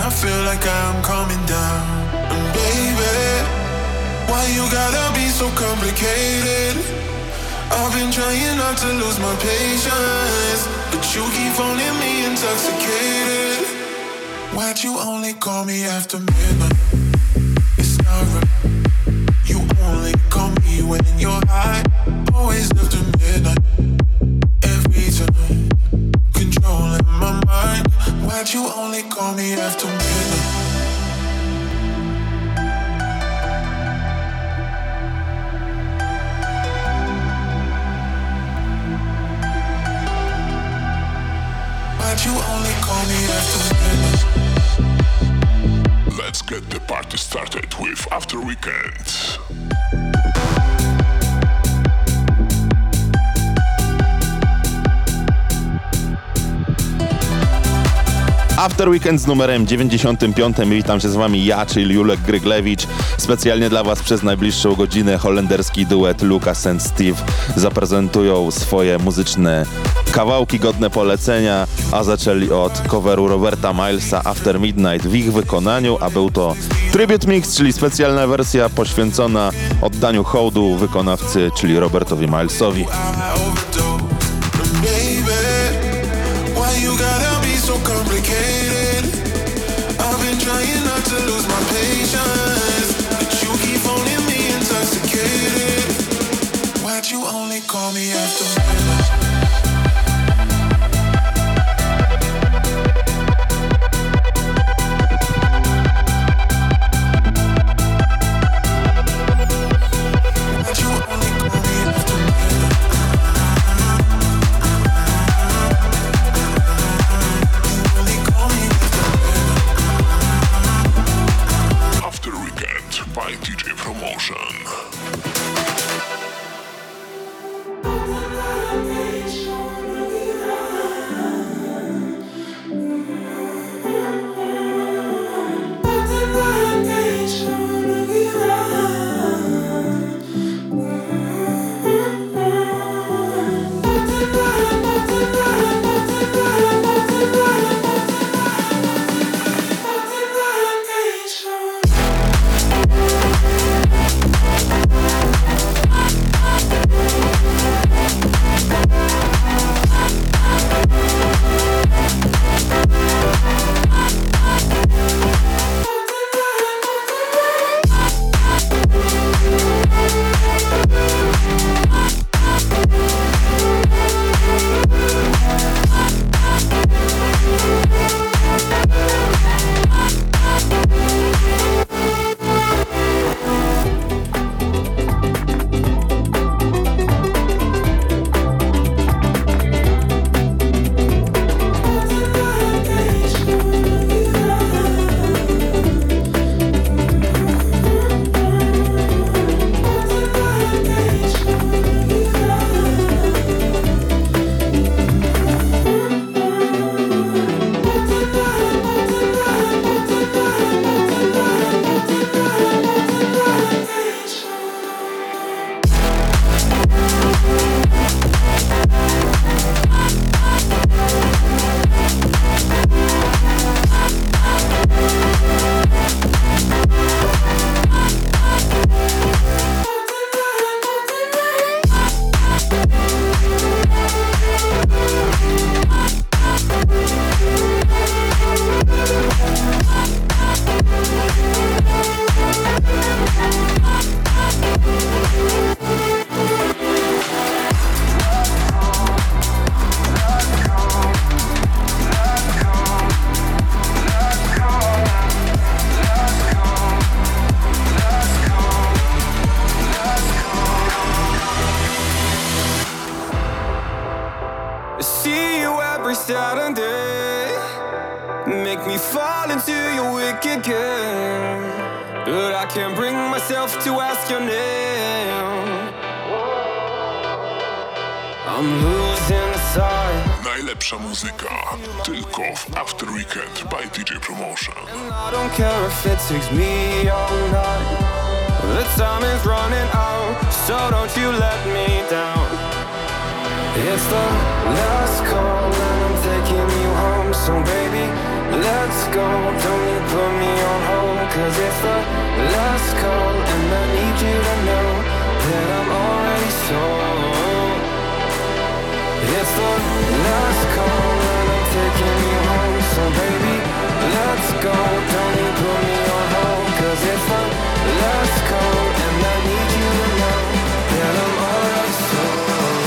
I feel like I'm coming down. And baby, why you gotta be so complicated? I've been trying not to lose my patience, but you keep phoning me intoxicated. Why'd you only call me after midnight? It's not right. You only call me when you're high. Always after midnight. Every time, controlling my mind. Why'd you only call me after midnight? Why'd you only call me after midnight? Let's get the party started with After Weekend. After Weekend z numerem 95. Witam się z wami ja, czyli Julek Gryglewicz. Specjalnie dla was przez najbliższą godzinę holenderski duet Lucas and Steve zaprezentują swoje muzyczne kawałki godne polecenia, a zaczęli od coveru Roberta Milesa After Midnight w ich wykonaniu, a był to Tribute Mix, czyli specjalna wersja poświęcona oddaniu hołdu wykonawcy, czyli Robertowi Milesowi. So complicated. I've been trying not to lose my patience, but you keep phoning me intoxicated. Why'd you only call me after midnight? Najlepsza muzyka tylko w After Weekend by DJ Promotion. I don't care if it takes me all night. The time is running out, so don't you let me down. It's the last call and I'm taking you home, so baby, let's go. Don't need 'cause it's the last call, and I need you to know that I'm already sold. It's the last call and I'm taking you home, so baby, let's go. Don't you put me on hold, 'cause it's the last call and I need you to know that I'm already sold.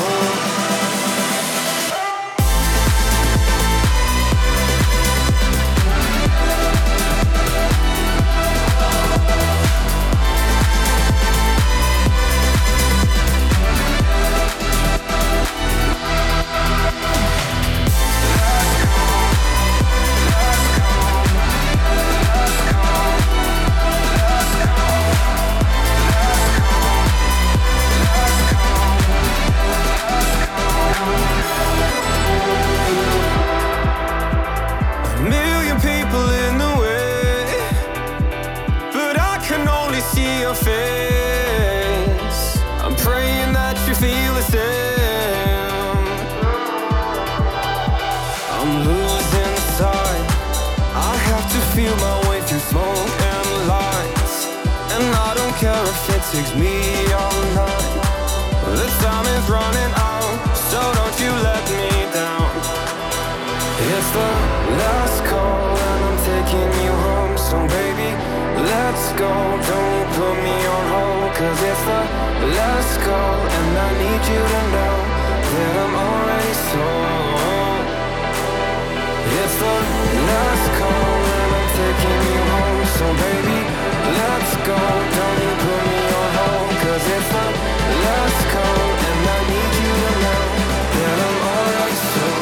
Takes me all night. The time is running out, so don't you let me down. It's the last call and I'm taking you home, so baby, let's go. Don't you put me on hold, 'cause it's the last call and I need you to know that I'm already sold. It's the last call and I'm taking you home, so baby, let's go. Don't you put me on hold, 'cause it's the last call and I need you to know that I'm already sold.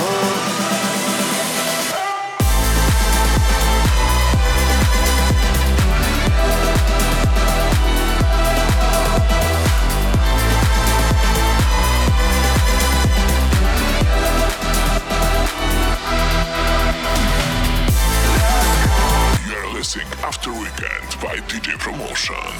You're listening After Weekend by DJ Promotion.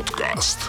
Podcast.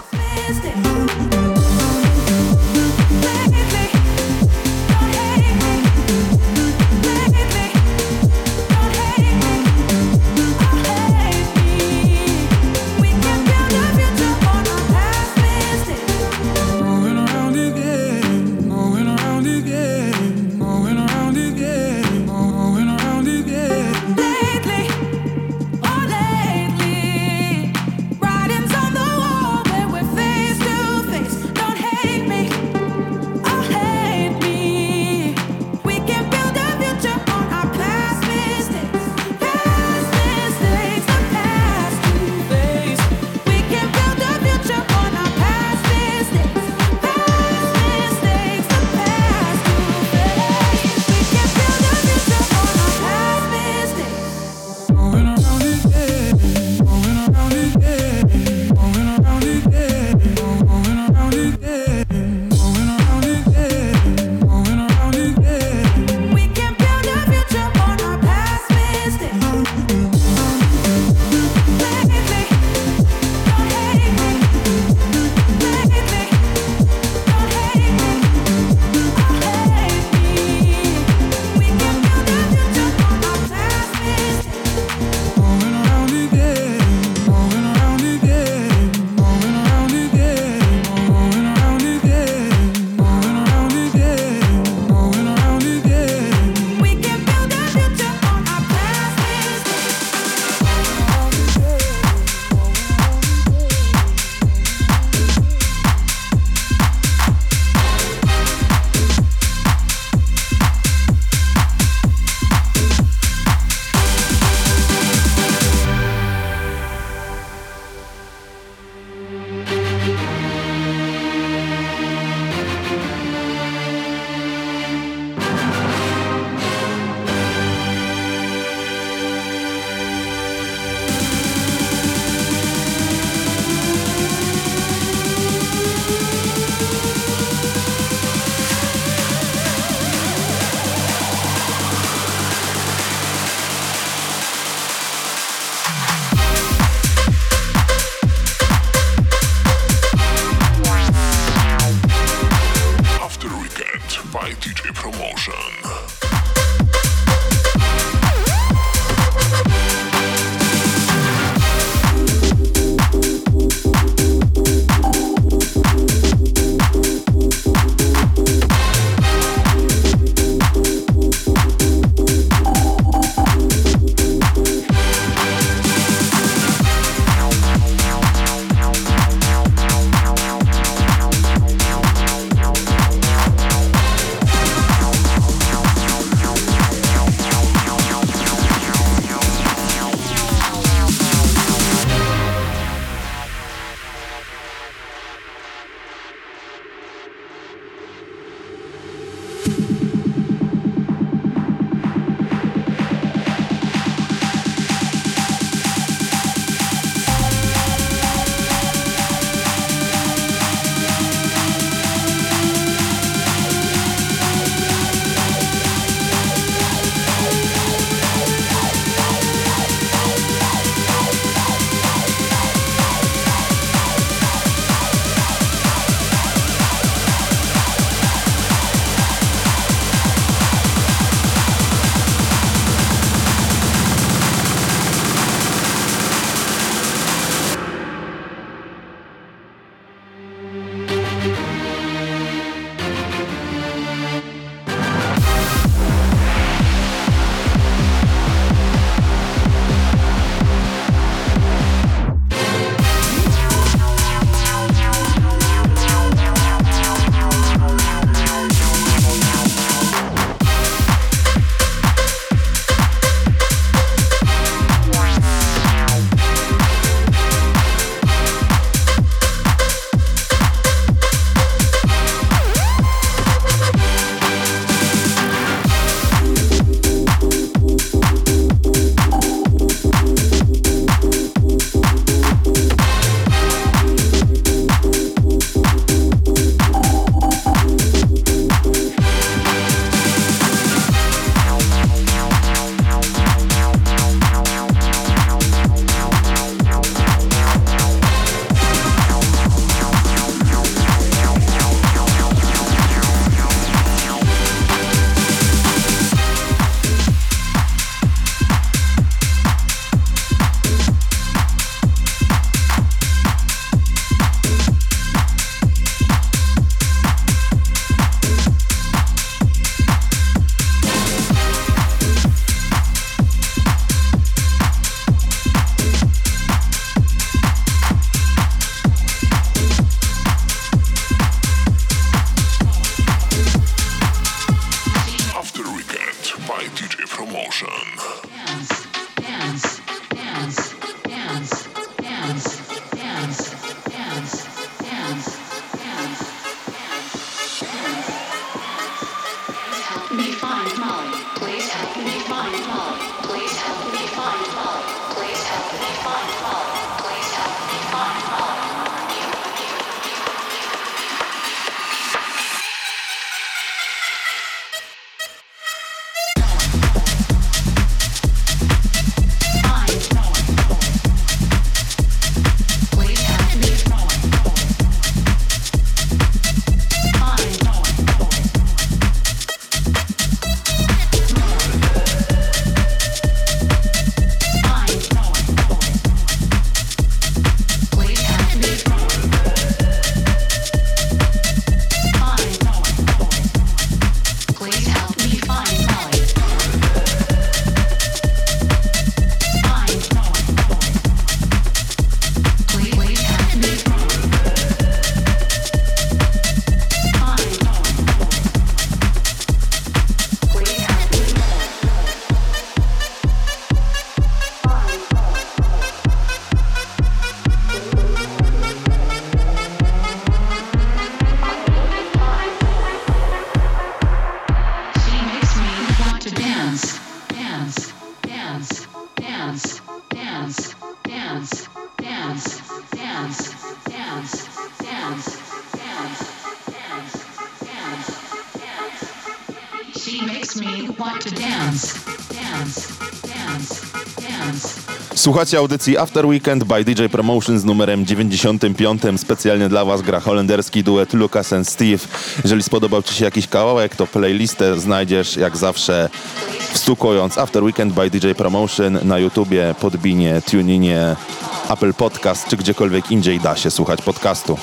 She makes me want to dance, dance, dance, dance. Słuchacie audycji After Weekend by DJ Promotion z numerem 95. Specjalnie dla Was gra holenderski duet Lucas and Steve. Jeżeli spodobał Ci się jakiś kawałek, to playlistę znajdziesz jak zawsze wstukując After Weekend by DJ Promotion na YouTubie, Podbinie, TuneInie, Apple Podcast czy gdziekolwiek indziej da się słuchać podcastu.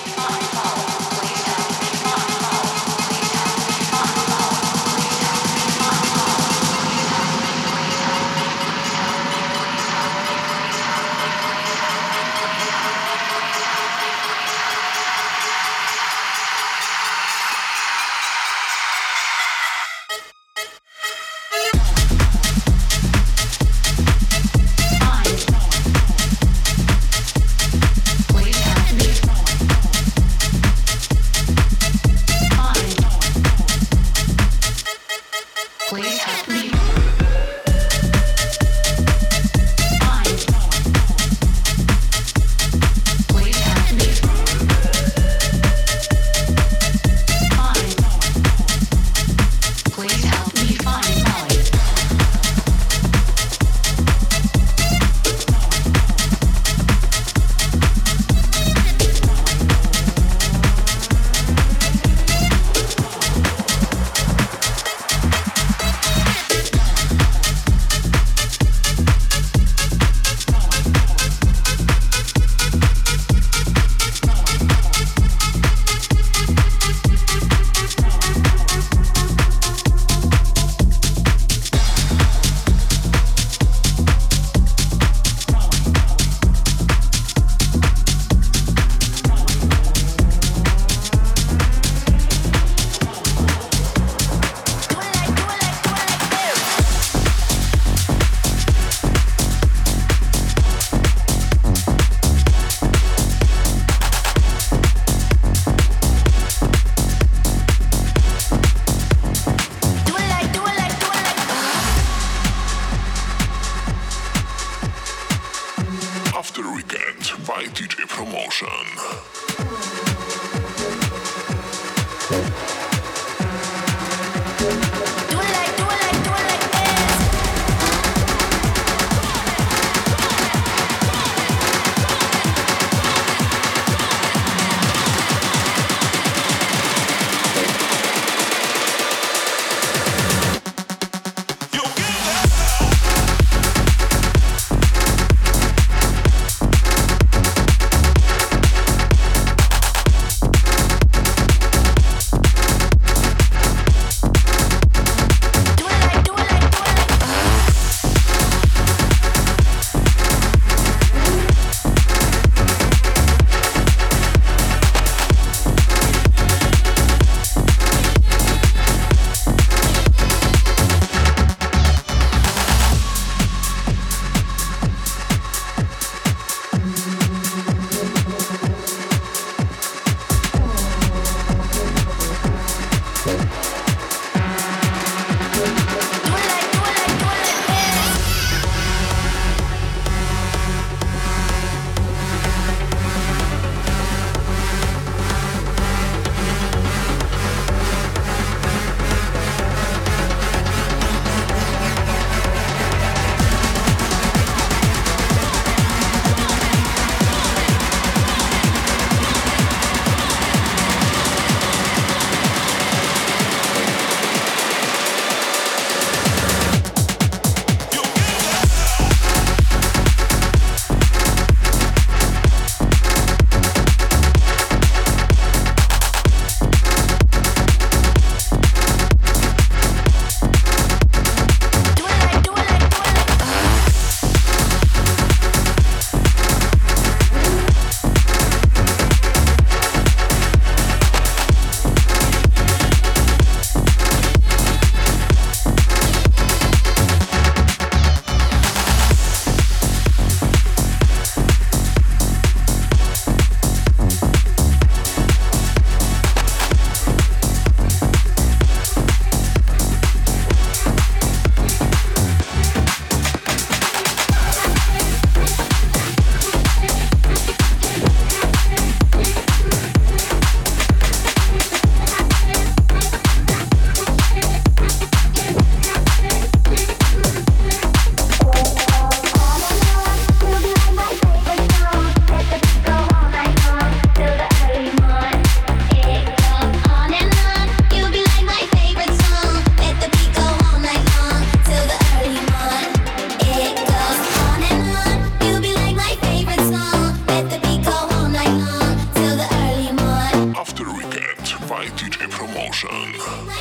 by DJ Promotion.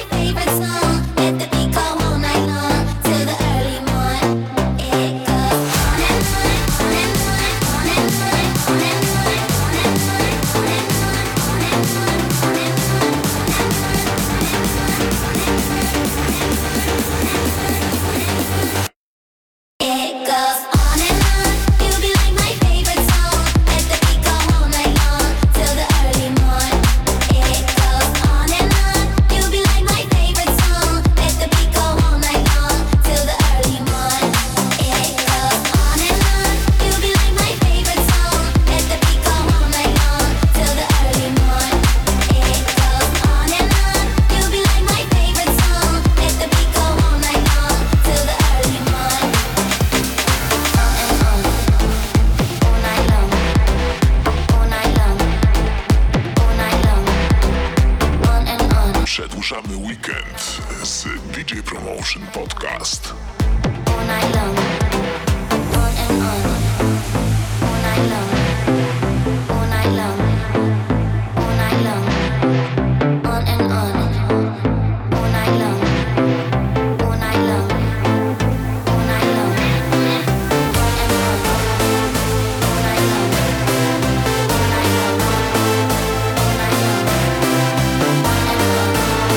Przedłużamy weekend z DJ Promotion Podcast. All night long, on and on. All night long, all night long, all night long, on and on. All night long, all night long, all night long, on and on. All night long, all night long, all night long, on and on.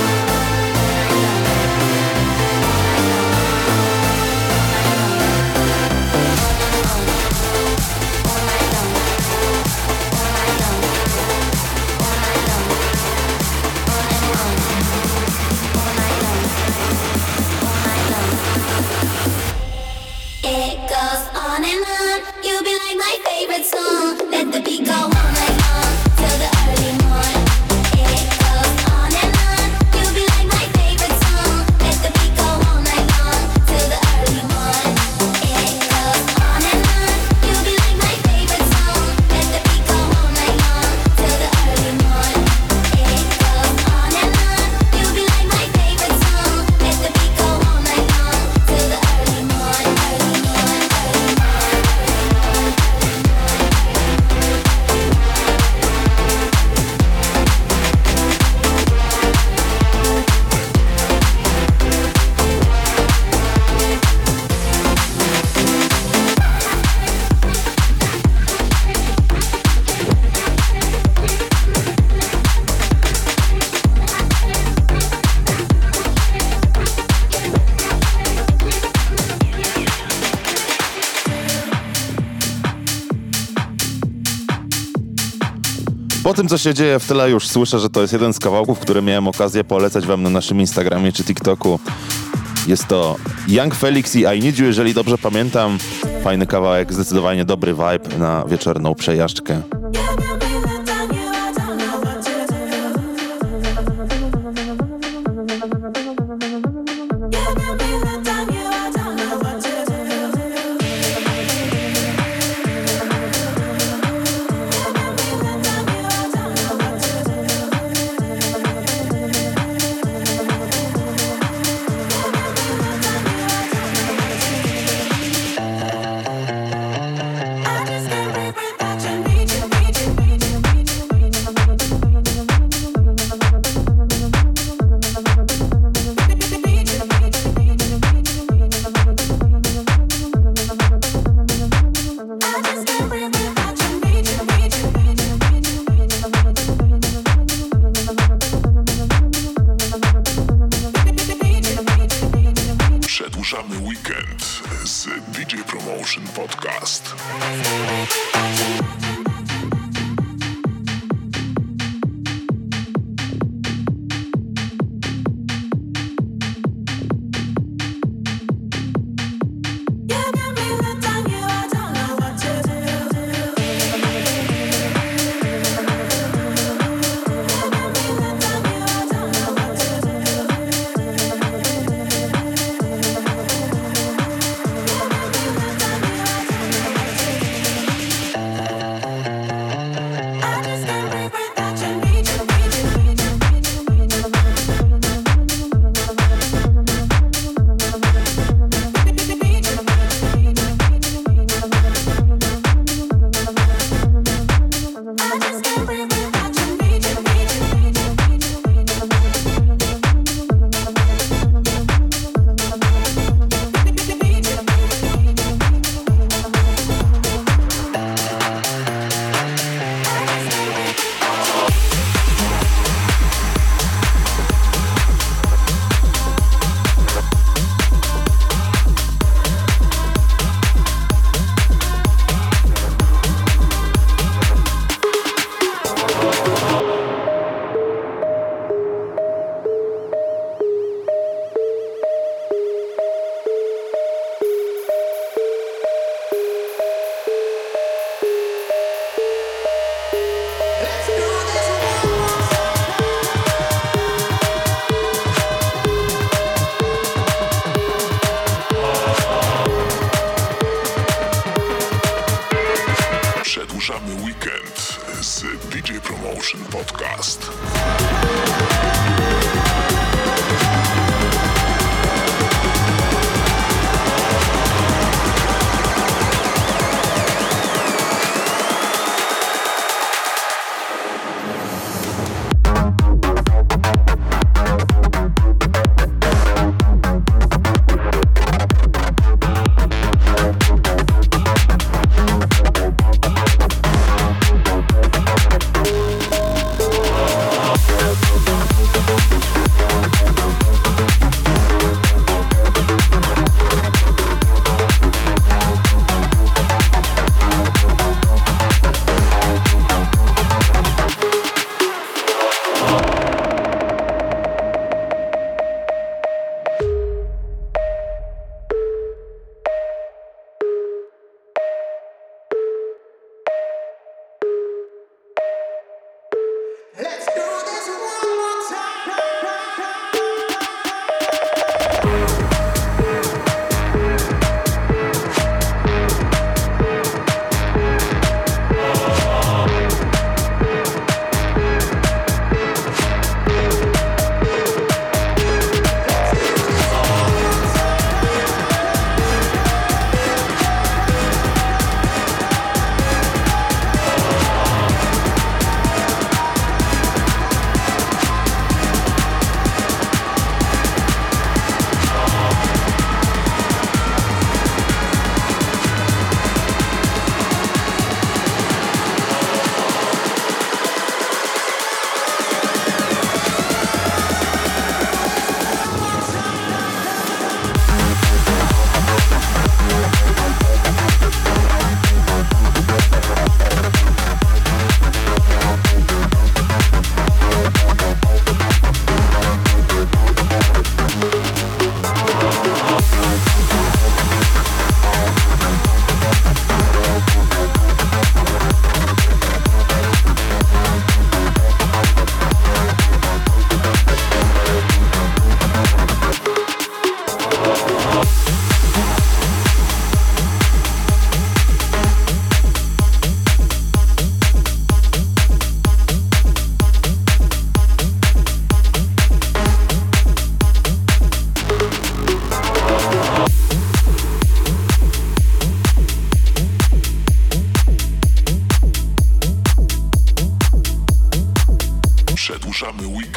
It goes on and on. You'll be like my favorite song. Let the beat go all night long till the early morn. It goes on and on. You'll be like my favorite song. Let the beat go all night long till the early morn. It goes on and on. You'll be like my favorite song. Let the beat go all night long till the early morn. It goes on and on. You'll be like my favorite song. Let the beat go all night long till the early morn. Early morn, early morn. Po tym, co się dzieje w tyle, już słyszę, że to jest jeden z kawałków, który miałem okazję polecać wam na naszym Instagramie czy TikToku. Jest to Young Felix i I Need You, jeżeli dobrze pamiętam. Fajny kawałek, zdecydowanie dobry vibe na wieczorną przejażdżkę. Przedłużamy weekend z DJ Promotion Podcast.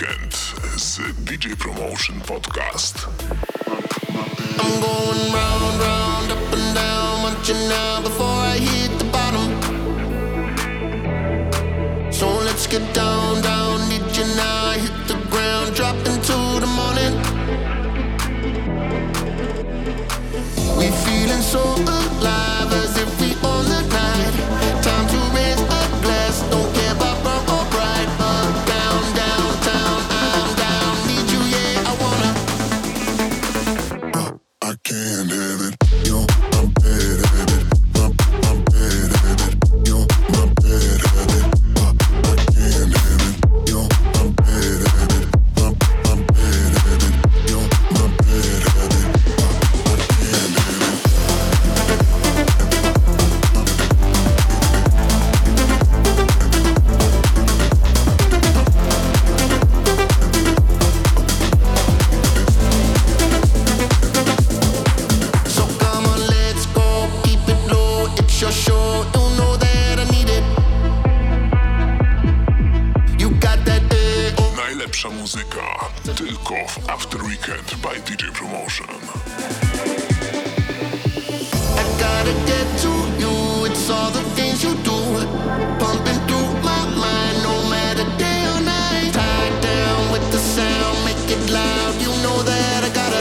Weekend z DJ Promotion Podcast. I'm going round, round, up and down, watching now before I hit the bottom. So let's get down, down, need you now, hit the ground, drop into the morning. We feeling so alive as if we own the night. Time to raise a glass, don't care about wrong or right. Down, downtown, I'm down, need you, yeah, I wanna. I can't have it, yo, I'm bad at it. I'm bad at it, yo, my bad at it. I can't have it, yo, I'm bad at it. I'm bad at it, yo, my bad at it. I can't have it. So come on, let's go, keep it low, it's your show, you know that I need it. You got that, oh. Najlepsza muzyka tylko w After Weekend by DJ Promotion. I gotta get to you, it's all the things you do, pumping through my mind, no matter day or night. Tied down with the sound, make it loud, you know that I gotta.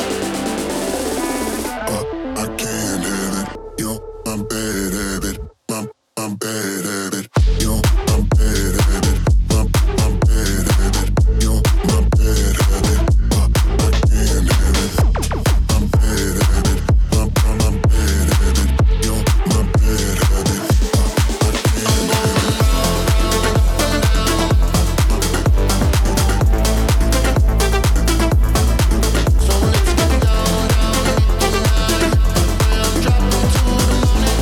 I can't have it, yo, I'm bad at it, I'm bad at it, yo, I'm bad at it, I'm bad at it, yo, my bad at it. I can't have it, I'm bad at it, I'm bad at it, yo, my bad at it. I'm going round, round, up and down. So let's get down, down, hit the night. Well, drop into the morning.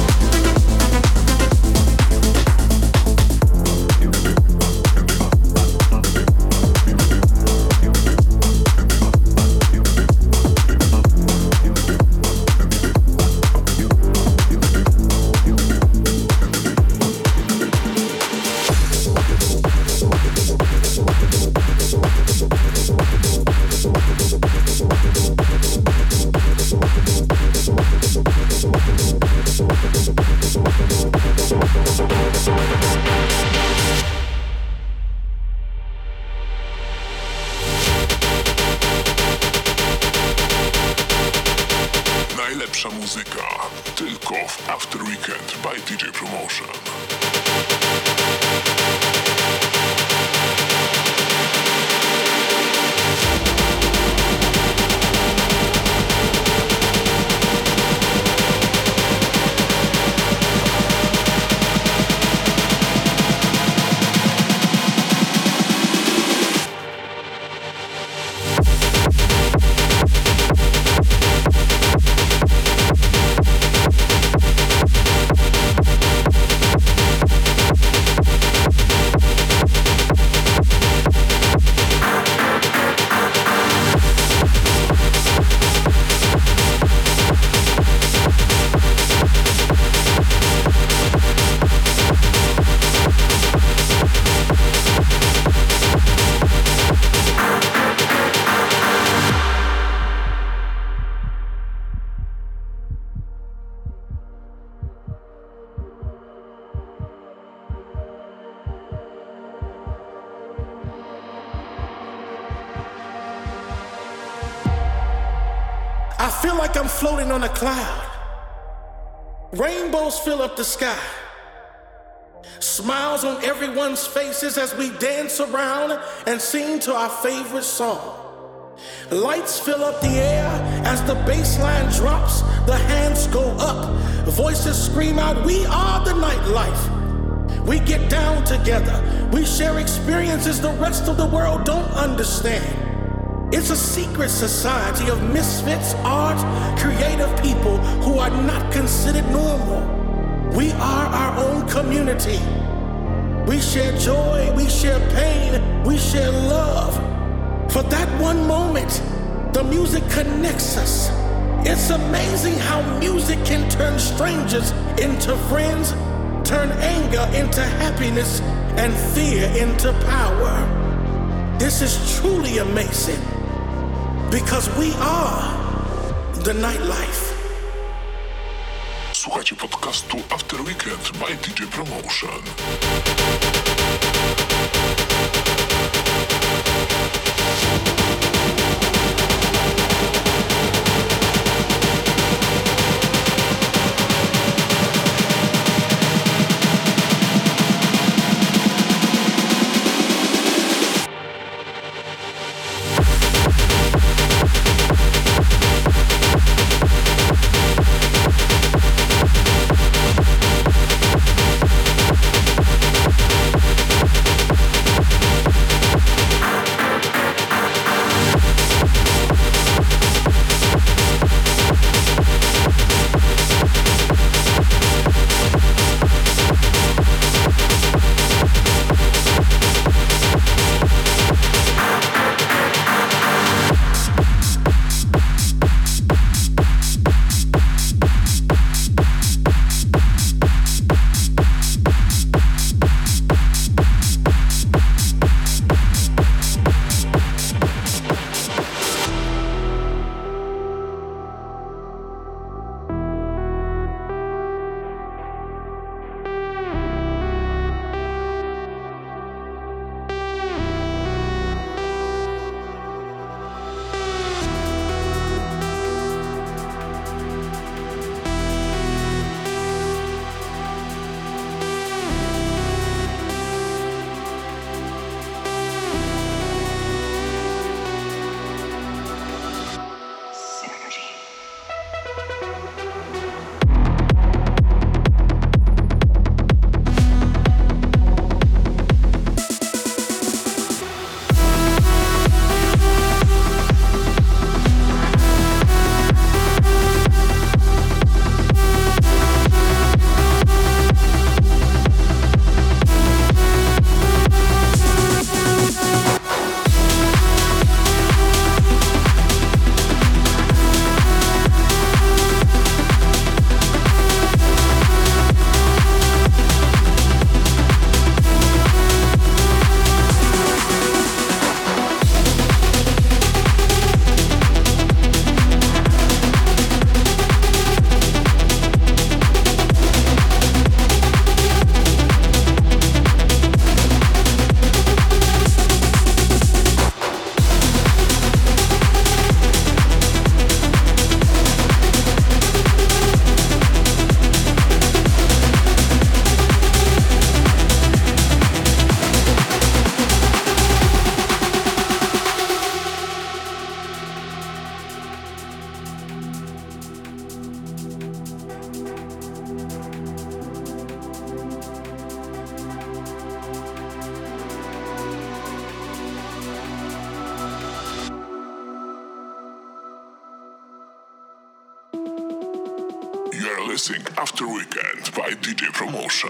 Najlepsza muzyka tylko w After Weekend by DJ Promotion. I feel like I'm floating on a cloud. Rainbows fill up the sky. Smiles on everyone's faces as we dance around and sing to our favorite song. Lights fill up the air as the bass line drops, the hands go up, voices scream out, we are the nightlife. We get down together, we share experiences the rest of the world don't understand. It's a secret society of misfits, art, creative people who are not considered normal. We are our own community. We share joy, we share pain, we share love. For that one moment, the music connects us. It's amazing how music can turn strangers into friends, turn anger into happiness, and fear into power. This is truly amazing because we are the nightlife. Słuchajcie podcastu After Weekend by DJ Promotion. You're listening After Weekend by DJ Promotion.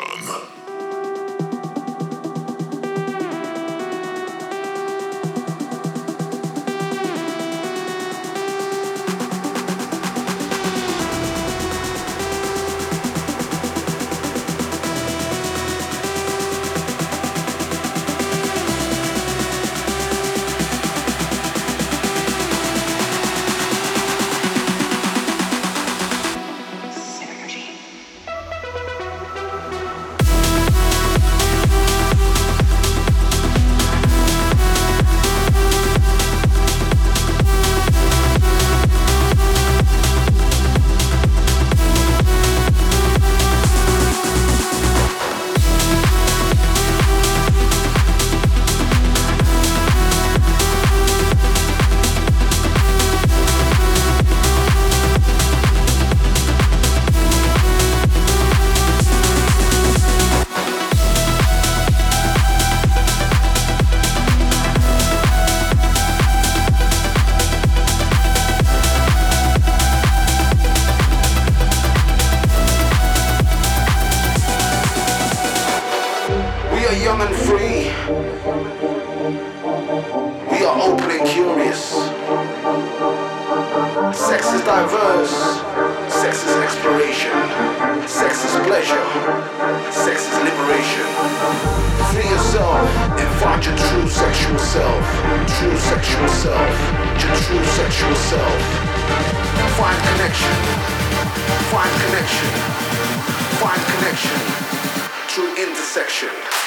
Young and free, we are open and curious. Sex is diverse, sex is exploration, sex is pleasure, sex is liberation. Free yourself and find your true sexual self. True sexual self. Your true sexual self. Find connection. Find connection. Find connection. True intersection.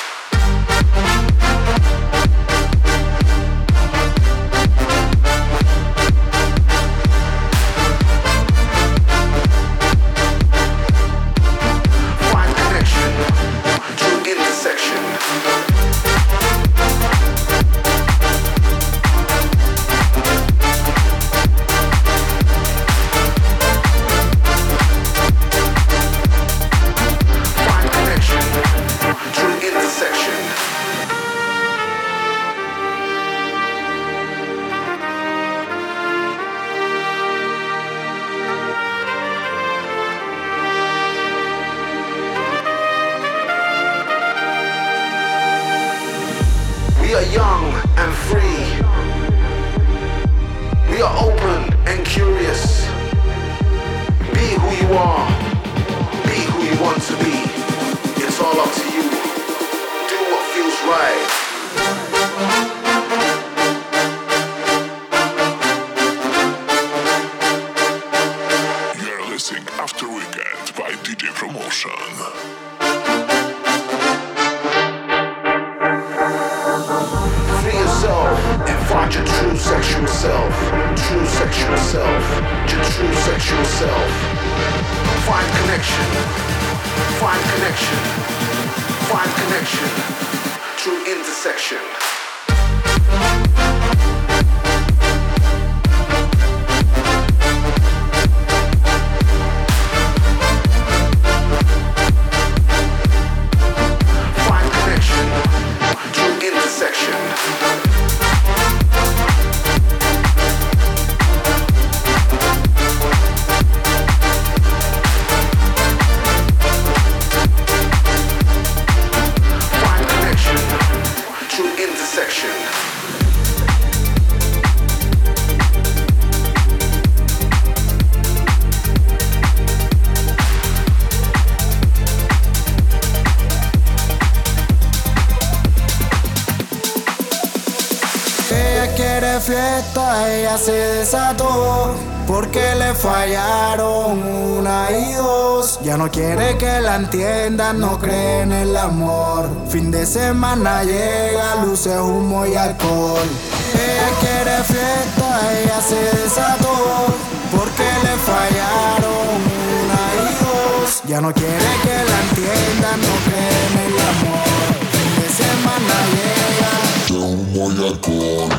Fiesta, ella se desató porque le fallaron una y dos. Ya no quiere que la entiendan, no cree en el amor. Fin de semana llega, luces, humo y alcohol. Ella quiere fiesta, ella se desató porque le fallaron una y dos. Ya no quiere que la entiendan, no cree en el amor. Fin de semana llega, humo y alcohol.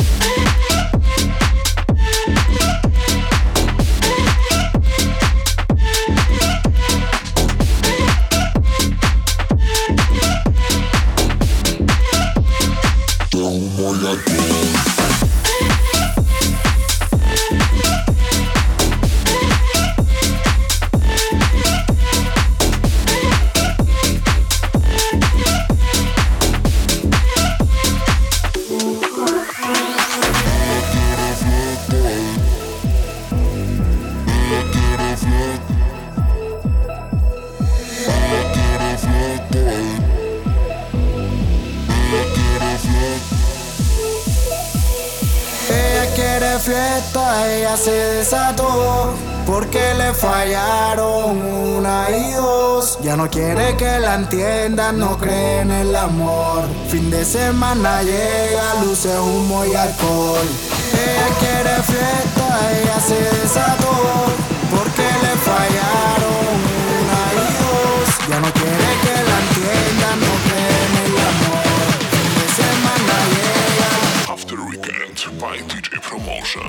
Fiesta, ella se desató porque le fallaron una y dos. Ya no quiere que la entiendan, no cree en el amor. Fin de semana llega, luces, humo y alcohol. Ella quiere fiesta, ella se desató porque le fallaron una y dos. Ya no quiere que la entiendan, no cree en el amor. Fin de semana llega. After Weekend by DJ Promotion.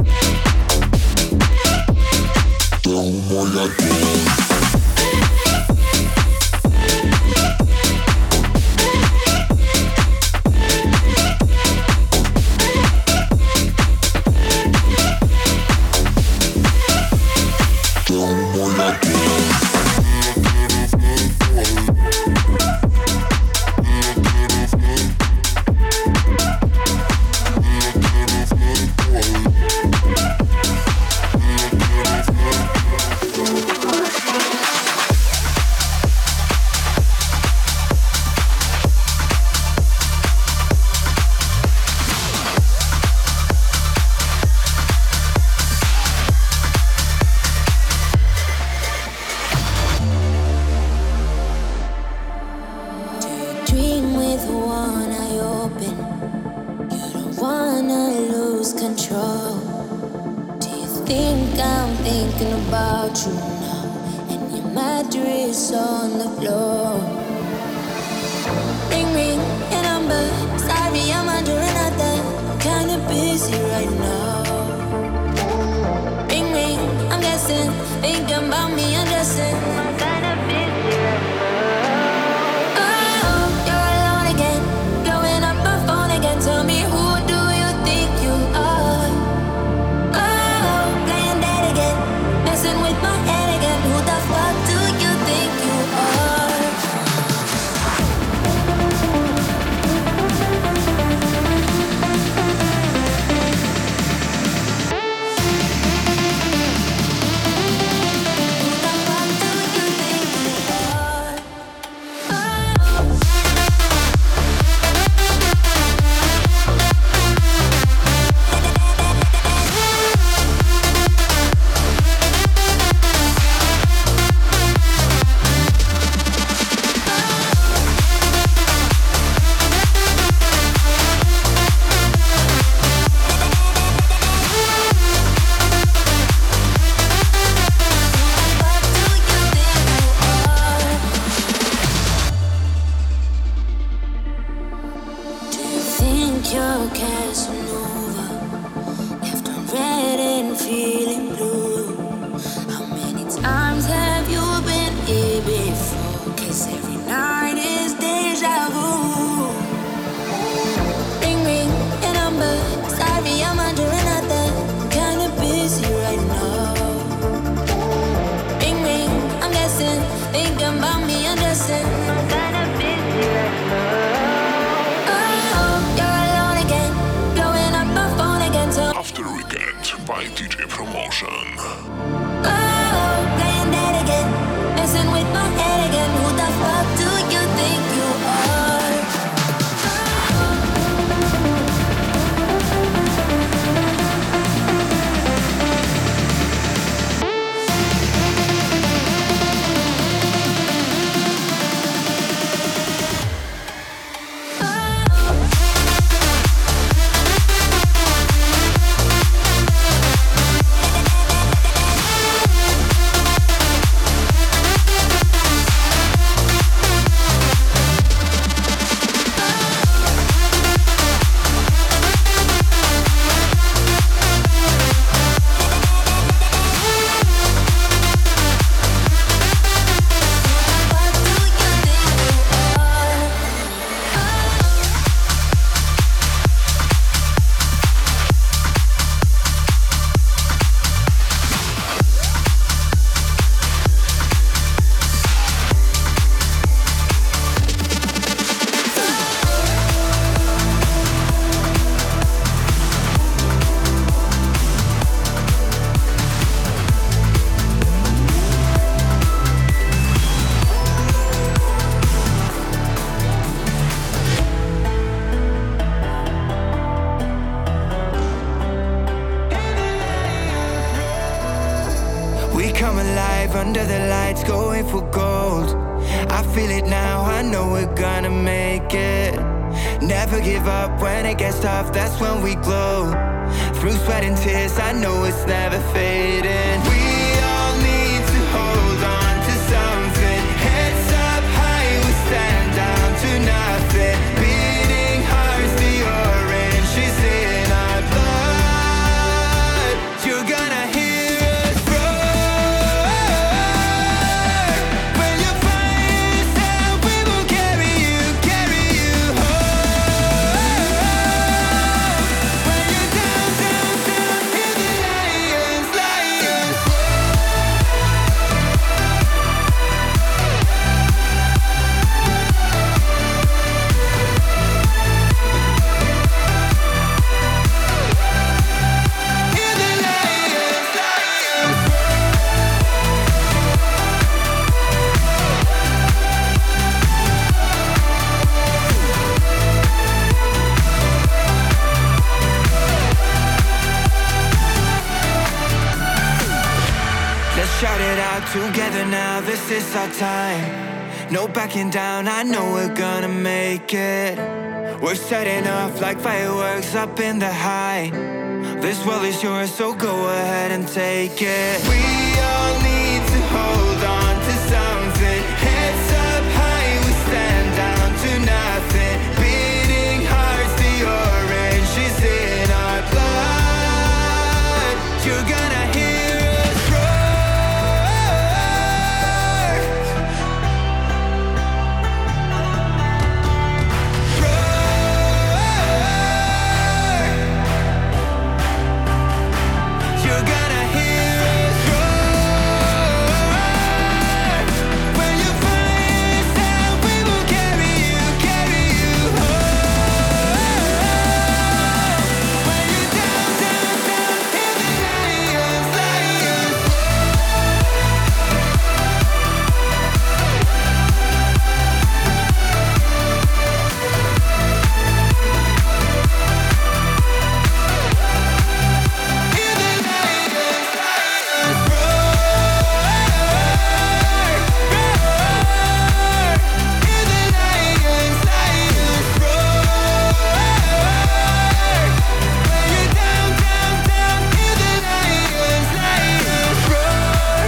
Don't wanna go. control. Do you think I'm thinking about you now? And your mattress on the floor. Ring ring your number. Sorry, I'm under another. I'm kinda busy right now. Ring ring, I'm guessing. Thinking about me undressing. I'm kinda busy right now. Oh, you're alone again. Blowing up my phone again. Tell me, who do you think you are? Oh, playing dead again. Messing with my head again. Who the fuck do you think you are? You're Casanova, left on red and feeling blue. How many times have you been here before? 'Cause every night is deja vu. Ring ring your number. Sorry, I'm under another. I'm kinda busy right now. Ring ring, I'm guessing. Thinking about me undressing. I'm kinda busy right now. After Weekend by DJ Promotion. Oh, playing dead again, messing with my head again. Who the fuck do you think you are? Under the lights, going for gold. I feel it now, I know we're gonna make it. Never give up when it gets tough, that's when we glow. Through sweat and tears, I know it's never fading. We all need to hold on to something. Heads up high, we stand down to nothing. Beating hearts, the orange is in our blood. You're gonna hear us roar. Shout it out together now, this is our time. No backing down, I know we're gonna make it. We're setting off like fireworks up in the high. This world is yours, so go ahead and take it. We all need to hold on to something. Heads up high, we stand down to nothing. Beating hearts, the orange is in our blood. You're gonna hear us roar. Roar. You're gonna hear us roar. When you find yourself, we will carry you home. When you're down, down, down, hear the lions, lions. Hear the lions, lions roar, roar. Hear the lions, lions roar. When you're down, down, down, hear the lions, lions roar.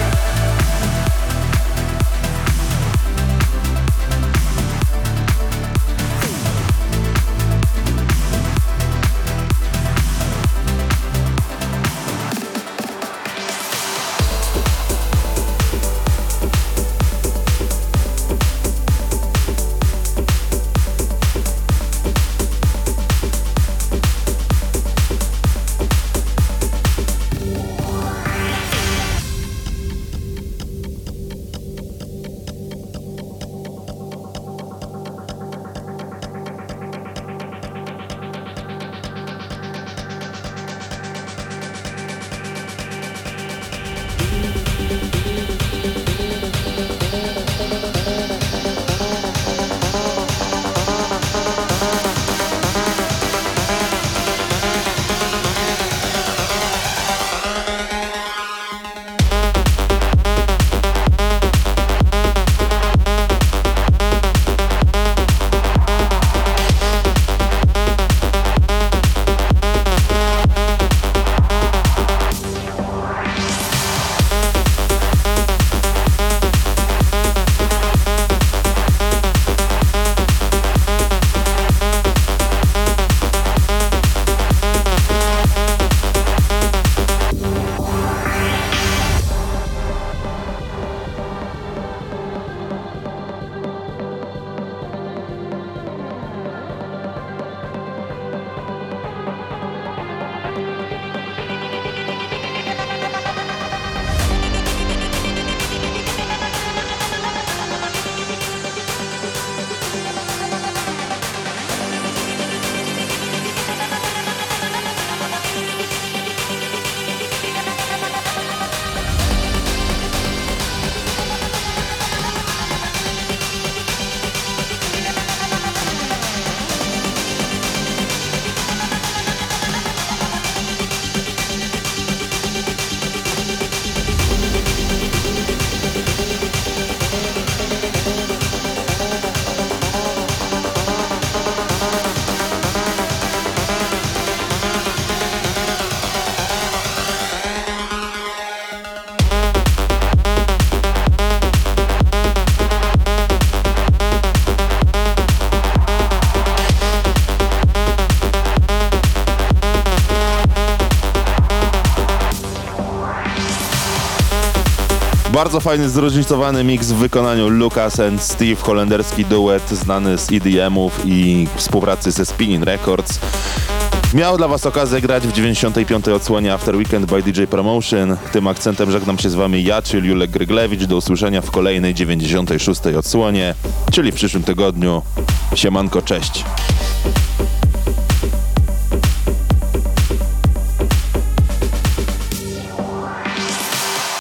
Bardzo fajny, zróżnicowany miks w wykonaniu Lucas and Steve, holenderski duet znany z EDM-ów i współpracy ze Spinning Records. Miał dla was okazję grać w 95. odsłonie After Weekend by DJ Promotion. Tym akcentem żegnam się z wami ja, czyli Julek Gryglewicz. Do usłyszenia w kolejnej 96. odsłonie, czyli w przyszłym tygodniu. Siemanko, cześć.